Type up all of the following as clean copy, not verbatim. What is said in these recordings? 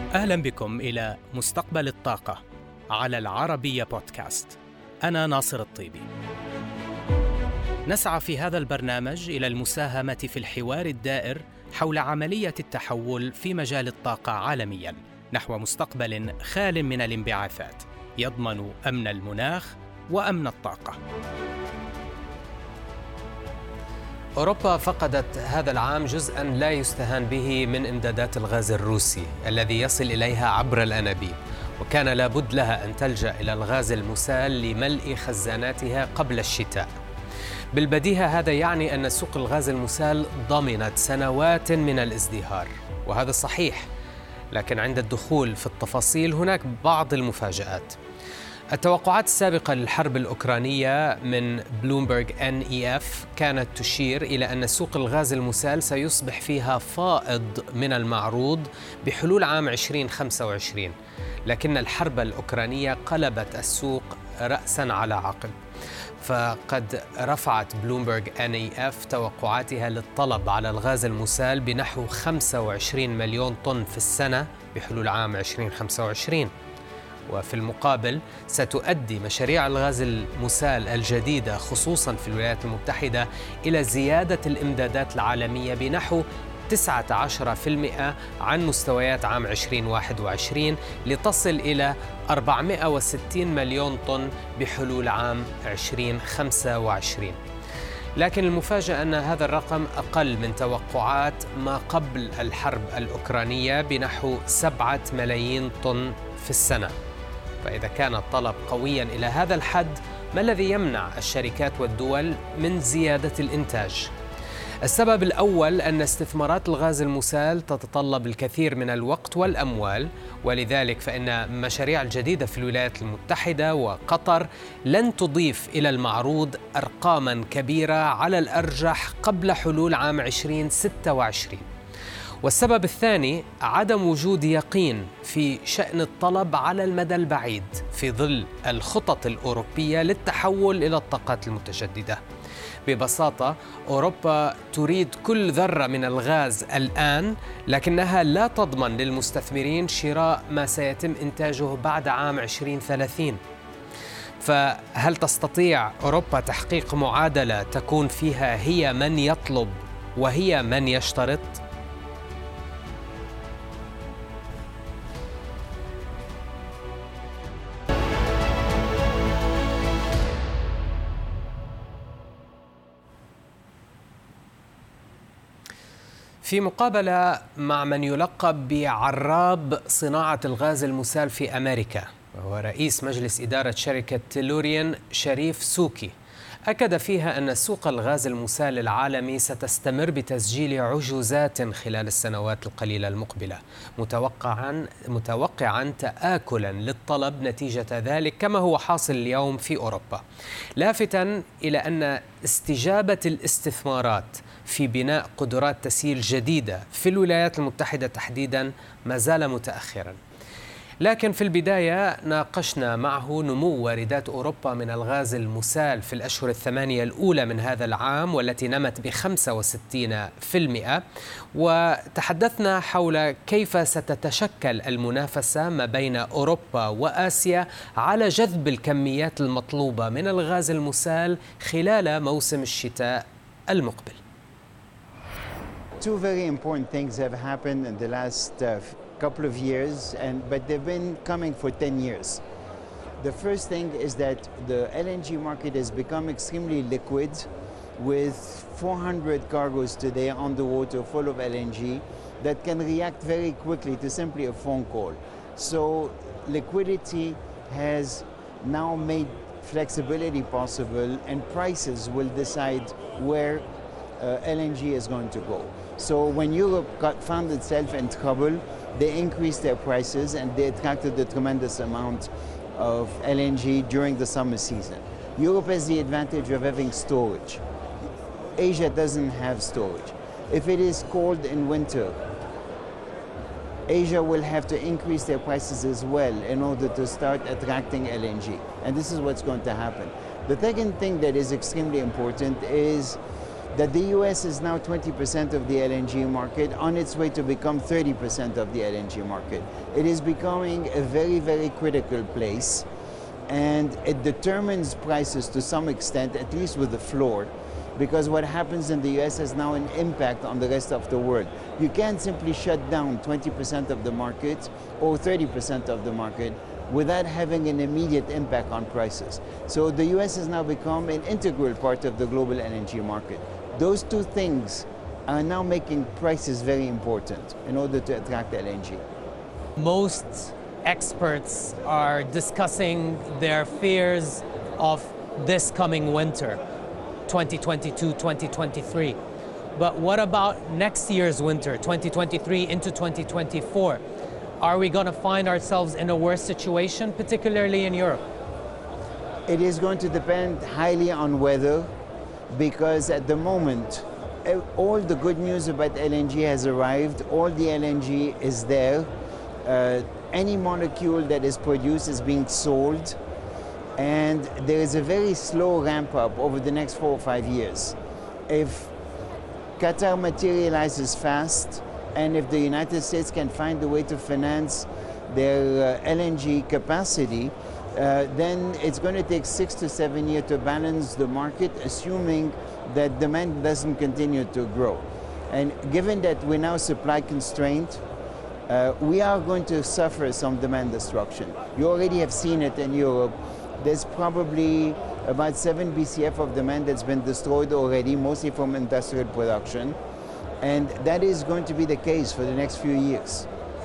أهلا بكم إلى مستقبل الطاقة على العربية بودكاست. أنا ناصر الطيبي. نسعى في هذا البرنامج إلى المساهمة في الحوار الدائر حول عملية التحول في مجال الطاقة عالمياً نحو مستقبل خال من الانبعاثات يضمن أمن المناخ وأمن الطاقة. أوروبا فقدت هذا العام جزءاً لا يستهان به من إمدادات الغاز الروسي الذي يصل إليها عبر الأنابيب، وكان لابد لها أن تلجأ إلى الغاز المسال لملء خزاناتها قبل الشتاء. بالبديهة هذا يعني أن سوق الغاز المسال ضمنت سنوات من الازدهار، وهذا صحيح، لكن عند الدخول في التفاصيل هناك بعض المفاجآت. التوقعات السابقة للحرب الأوكرانية من بلومبرغ NEF كانت تشير إلى أن سوق الغاز المسال سيصبح فيها فائض من المعروض بحلول عام 2025، لكن الحرب الأوكرانية قلبت السوق رأساً على عقب، فقد رفعت بلومبرغ NEF توقعاتها للطلب على الغاز المسال بنحو 25 مليون طن في السنة بحلول عام 2025. وفي المقابل ستؤدي مشاريع الغاز المسال الجديدة خصوصاً في الولايات المتحدة إلى زيادة الإمدادات العالمية بنحو 19% عن مستويات عام 2021 لتصل إلى 460 مليون طن بحلول عام 2025. لكن المفاجأة أن هذا الرقم أقل من توقعات ما قبل الحرب الأوكرانية بنحو 7 ملايين طن في السنة. فإذا كان الطلب قوياً إلى هذا الحد، ما الذي يمنع الشركات والدول من زيادة الإنتاج؟ السبب الأول أن استثمارات الغاز المسال تتطلب الكثير من الوقت والأموال، ولذلك فإن مشاريع الجديدة في الولايات المتحدة وقطر لن تضيف إلى المعروض أرقاماً كبيرة على الأرجح قبل حلول عام 2026. والسبب الثاني عدم وجود يقين في شأن الطلب على المدى البعيد في ظل الخطط الأوروبية للتحول إلى الطاقات المتجددة. ببساطة أوروبا تريد كل ذرة من الغاز الآن، لكنها لا تضمن للمستثمرين شراء ما سيتم إنتاجه بعد عام 2030. فهل تستطيع أوروبا تحقيق معادلة تكون فيها هي من يطلب وهي من يشترط؟ في مقابلة مع من يلقب بعراب صناعة الغاز المسال في أمريكا، وهو رئيس مجلس إدارة شركة تيلوريان شريف سوكي، أكد فيها أن سوق الغاز المسال العالمي ستستمر بتسجيل عجوزات خلال السنوات القليلة المقبلة، متوقعاً تآكلاً للطلب نتيجة ذلك كما هو حاصل اليوم في أوروبا، لافتاً إلى أن استجابة الاستثمارات في بناء قدرات تسييل جديدة في الولايات المتحدة تحديداً ما زال متأخراً. لكن في البداية ناقشنا معه نمو واردات أوروبا من الغاز المسال في الأشهر الثمانية الأولى من هذا العام، والتي نمت ب65%، وتحدثنا حول كيف ستتشكل المنافسة ما بين أوروبا وآسيا على جذب الكميات المطلوبة من الغاز المسال خلال موسم الشتاء المقبل. Two very important things have happened in the last couple of years, but they've been coming for 10 years. The first thing is that the LNG market has become extremely liquid, with 400 cargoes today on the water full of LNG that can react very quickly to simply a phone call. So liquidity has now made flexibility possible, and prices will decide where LNG is going to go. So when Europe found itself in trouble, they increased their prices and they attracted a tremendous amount of LNG during the summer season. Europe has the advantage of having storage. Asia doesn't have storage. If it is cold in winter, Asia will have to increase their prices as well in order to start attracting LNG. And this is what's going to happen. The second thing that is extremely important is that the US is now 20% of the LNG market, on its way to become 30% of the LNG market. It is becoming a very, very critical place, and it determines prices to some extent, at least with the floor, because what happens in the US has now an impact on the rest of the world. You can't simply shut down 20% of the market or 30% of the market without having an immediate impact on prices. So the US has now become an integral part of the global LNG market. Those two things are now making prices very important in order to attract LNG. Most experts are discussing their fears of this coming winter, 2022-2023. But what about next year's winter, 2023 into 2024? Are we going to find ourselves in a worse situation, particularly in Europe? It is going to depend highly on weather, because at the moment, all the good news about LNG has arrived, all the LNG is there, any molecule that is produced is being sold, and there is a very slow ramp up over the next 4 or 5 years. If Qatar materializes fast, and if the United States can find a way to finance their LNG capacity, then it's going to take 6 to 7 years to balance the market, assuming that demand doesn't continue to grow. And given that we're now supply constrained, we are going to suffer some demand destruction. You already have seen it in Europe. There's probably about 7 BCF of demand that's been destroyed already, mostly from industrial production. And that is going to be the case for the next few years.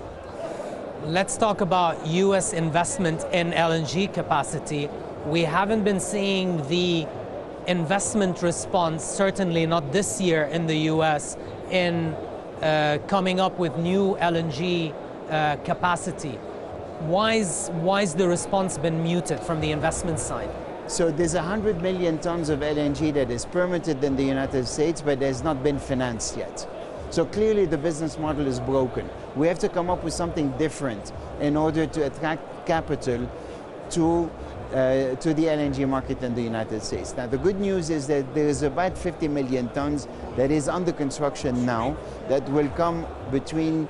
Let's talk about US investment in LNG capacity. We haven't been seeing the investment response, certainly not this year in the US, in coming up with new LNG capacity. Why is the response been muted from the investment side? So there's 100 million tons of LNG that is permitted in the United States, but has not been financed yet. So clearly the business model is broken. We have to come up with something different in order to attract capital to the LNG market in the United States. Now the good news is that there is about 50 million tons that is under construction now that will come between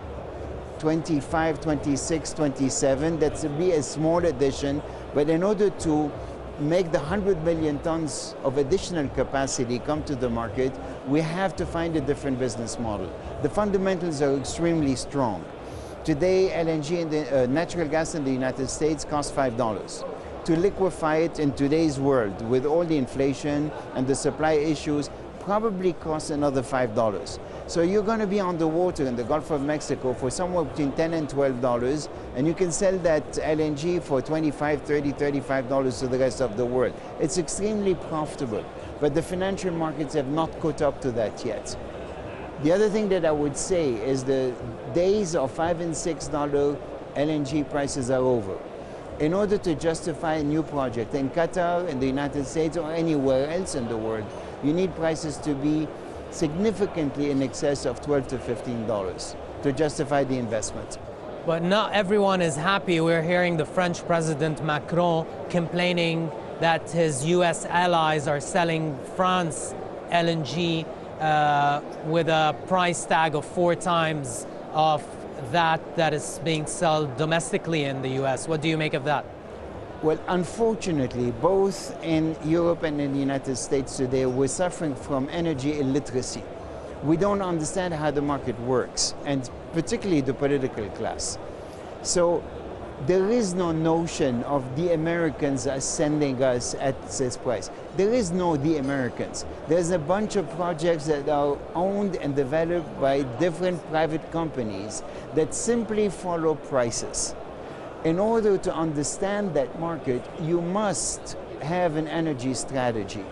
25, 26, 27. That's be a small addition, but in order to make the 100 million tons of additional capacity come to the market, we have to find a different business model. The fundamentals are extremely strong. Today, LNG, natural gas in the United States costs $5. To liquefy it in today's world, with all the inflation and the supply issues, probably costs another $5. So you're going to be on the water in the Gulf of Mexico for somewhere between $10 and $12, and you can sell that LNG for $25, $30, $35 to the rest of the world. It's extremely profitable, but the financial markets have not caught up to that yet. The other thing that I would say is the days of $5 and $6 LNG prices are over. In order to justify a new project in Qatar, in the United States, or anywhere else in the world, you need prices to be significantly in excess of $12 to $15 to justify the investment. But not everyone is happy. We're hearing the French President Macron complaining that his US allies are selling France LNG with a price tag of 4 times of that is being sold domestically in the US. What do you make of that? Well, unfortunately, both in Europe and in the United States today, we're suffering from energy illiteracy. We don't understand how the market works, and particularly the political class. So there is no notion of the Americans are sending us at this price. There is no the Americans. There's a bunch of projects that are owned and developed by different private companies that simply follow prices. In order to understand that market, you must have an energy strategy.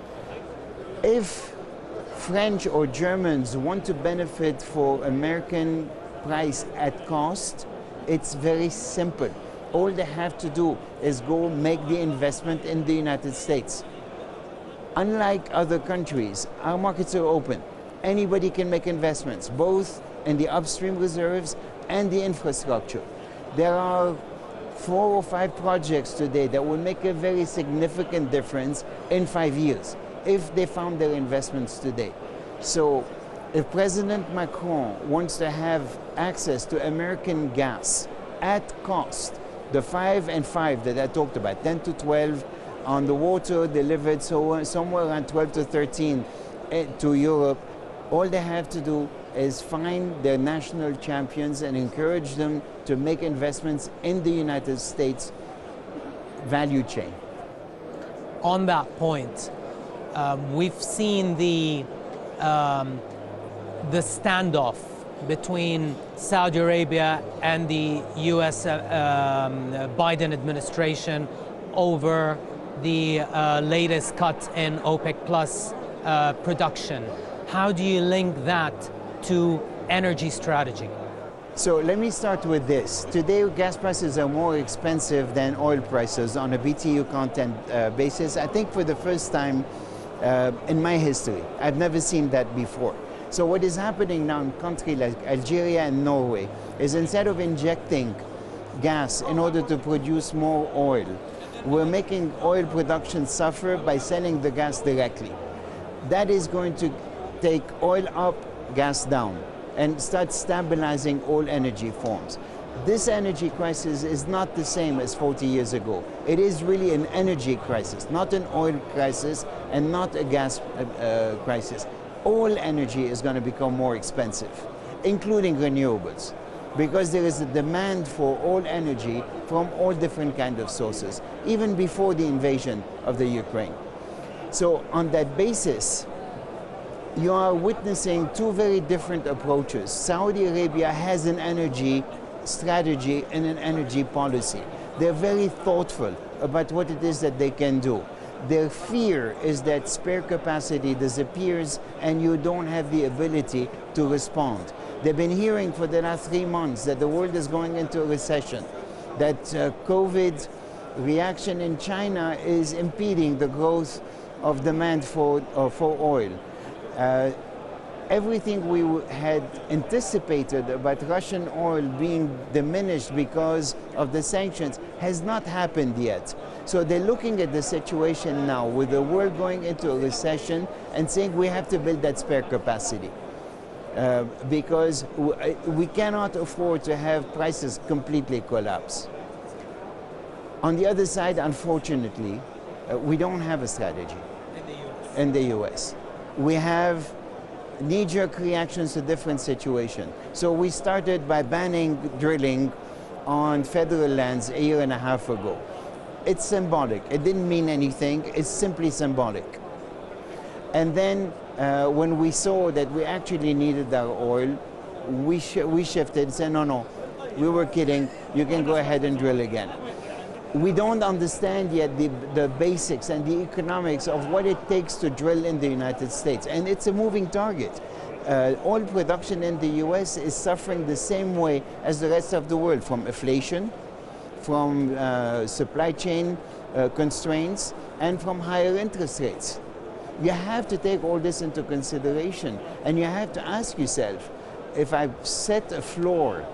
If French or Germans want to benefit for American price at cost, it's very simple. All they have to do is go make the investment in the United States. Unlike other countries, our markets are open. Anybody can make investments, both in the upstream reserves and the infrastructure. There are 4 or 5 projects today that will make a very significant difference in 5 years. if they found their investments today. So if President Macron wants to have access to American gas at cost, the 5 and 5 that I talked about, 10 to 12 on the water delivered somewhere around 12 to 13 to Europe, all they have to do is find their national champions and encourage them to make investments in the United States value chain. On that point, we've seen the standoff between Saudi Arabia and the US Biden administration over the latest cut in OPEC Plus production. How do you link that to energy strategy? So let me start with this. Today, gas prices are more expensive than oil prices on a BTU content basis. I think for the first time in my history, I've never seen that before. So what is happening now in countries like Algeria and Norway is instead of injecting gas in order to produce more oil, we're making oil production suffer by selling the gas directly. That is going to take oil up, gas down, and start stabilizing all energy forms. This energy crisis is not the same as 40 years ago. It is really an energy crisis, not an oil crisis and not a gas crisis. All energy is going to become more expensive, including renewables, because there is a demand for all energy from all different kinds of sources, even before the invasion of the Ukraine. So on that basis, you are witnessing two very different approaches. Saudi Arabia has an energy strategy and an energy policy. They're very thoughtful about what it is that they can do. Their fear is that spare capacity disappears and you don't have the ability to respond. They've been hearing for the last 3 months that the world is going into a recession, that COVID reaction in China is impeding the growth of demand for oil. Everything we had anticipated about Russian oil being diminished because of the sanctions has not happened yet. So they're looking at the situation now with the world going into a recession and saying we have to build that spare capacity because we cannot afford to have prices completely collapse. On the other side, unfortunately, we don't have a strategy in the US. We have knee-jerk reactions to different situations. So we started by banning drilling on federal lands a year and a half ago. It's symbolic. It didn't mean anything. It's simply symbolic. And then when we saw that we actually needed our oil, we shifted and said, no, we were kidding. You can go ahead and drill again. We don't understand yet the basics and the economics of what it takes to drill in the United States. And it's a moving target. Oil production in the US is suffering the same way as the rest of the world, from inflation, from supply chain constraints, and from higher interest rates. You have to take all this into consideration, and you have to ask yourself, if I set a floor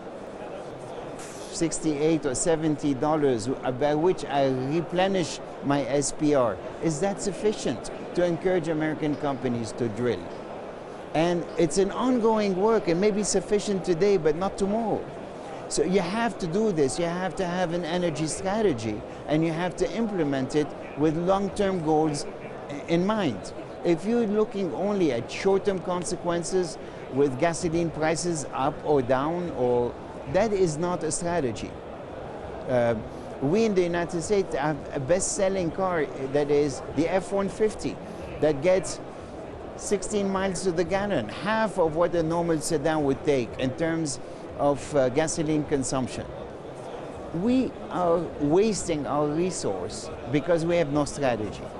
$68 or $70 by which I replenish my SPR, is that sufficient to encourage American companies to drill? And it's an ongoing work. It may be sufficient today, but not tomorrow. So you have to do this. You have to have an energy strategy, and you have to implement it with long-term goals in mind. If you're looking only at short-term consequences with gasoline prices up or down, that is not a strategy. We in the United States have a best-selling car that is the F-150 that gets 16 miles to the gallon, half of what a normal sedan would take in terms of gasoline consumption. We are wasting our resource because we have no strategy.